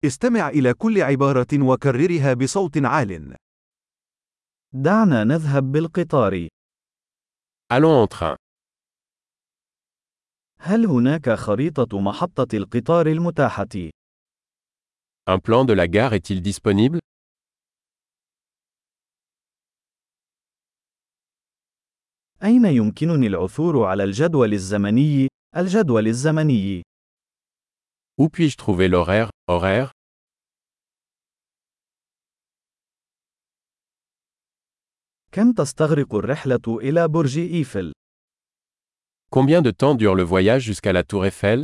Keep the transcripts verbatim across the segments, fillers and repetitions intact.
استمع إلى كل عبارة وكررها بصوت عال. دعنا نذهب بالقطار. Allons en train. هل هناك خريطة محطة القطار المتاحة؟ Un plan de la gare est-il disponible? أين يمكنني العثور على الجدول الزمني؟ الجدول الزمني. Où puis-je trouver l'horaire, horaire? كم تستغرق الرحلة إلى برج إيفل؟ Combien de temps dure le voyage jusqu'à la tour Eiffel?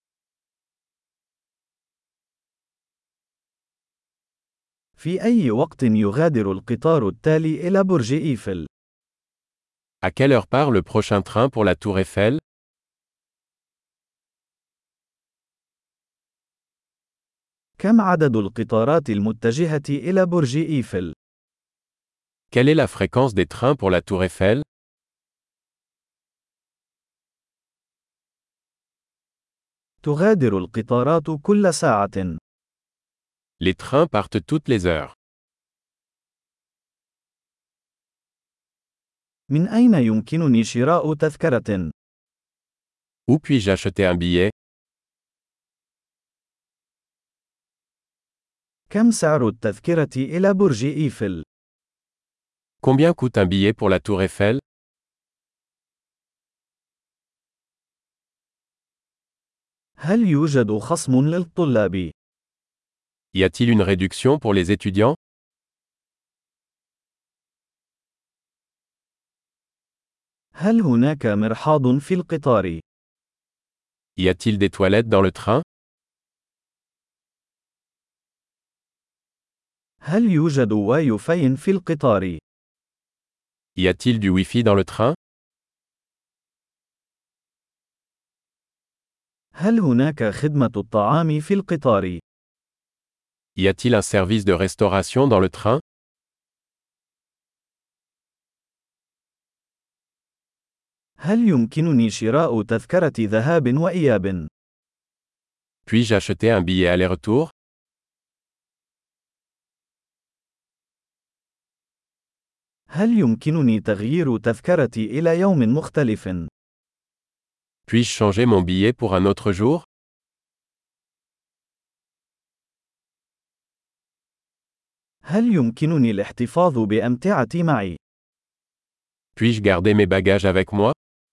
في أي وقت يغادر القطار التالي إلى برج إيفل؟ À quelle heure part le prochain train pour la tour Eiffel? كم عدد القطارات المتجهة إلى برج إيفل؟ Quelle est la fréquence des trains pour la tour Eiffel? تغادر القطارات كل ساعة. Les trains partent toutes les heures. من أين يمكنني شراء تذكرة؟ Où puis-je acheter un billet? كم سعر التذكرة إلى برج إيفل؟ Combien coûte un billet pour la tour Eiffel? هل يوجد خصم للطلاب؟ Y a-t-il une réduction pour les étudiants? هل هناك مرحاض في القطار؟ Y a-t-il des toilettes dans le train? هل يوجد واي فاي في القطار؟ Y a-t-il du Wi-Fi dans le train? هل هناك خدمة الطعام في القطار؟ Y a-t-il un service de restauration dans le train? هل يمكنني شراء تذكرة ذهاب وإياب؟ Puis-je acheter un billet aller-retour? هل يمكنني تغيير تذكرتي إلى يوم مختلف؟ Puis-je changer mon billet pour un autre jour? هل يمكنني الاحتفاظ بأمتعتي معي؟ Puis-je garder mes bagages avec moi?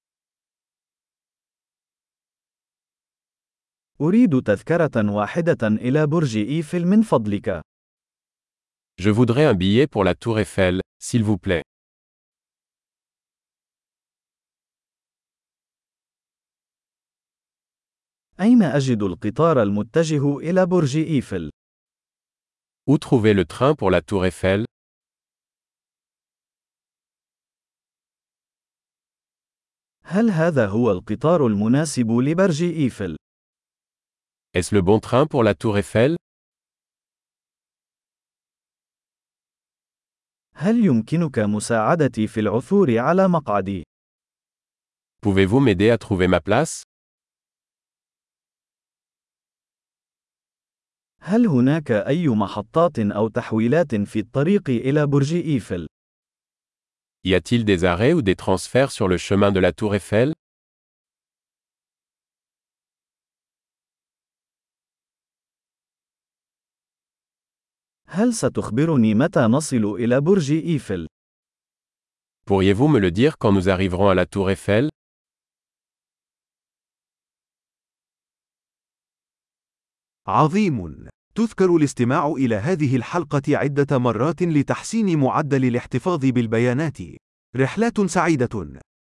أريد تذكرة واحدة إلى برج إيفل من فضلك. Je voudrais un billet pour la tour Eiffel, s'il vous plaît. أين أجد القطار المتجه إلى برج إيفل؟ Où trouver le train pour la tour Eiffel? هل هذا هو القطار المناسب لبرج إيفل؟ Est-ce le bon train pour la tour Eiffel? هل يمكنك مساعدتي في العثور على مقعدي؟ Pouvez-vous m'aider à trouver ma place? هل هناك أي محطات أو تحويلات في الطريق إلى برج إيفل؟ Y a-t-il des arrêts ou des transferts sur le chemin de la tour Eiffel? هل ستخبرني متى نصل إلى برج إيفل؟ Pourriez-vous me le dire quand nous arriverons à la tour Eiffel? عظيم! تذكر الاستماع إلى هذه الحلقة عدة مرات لتحسين معدل الاحتفاظ بالبيانات. رحلات سعيدة!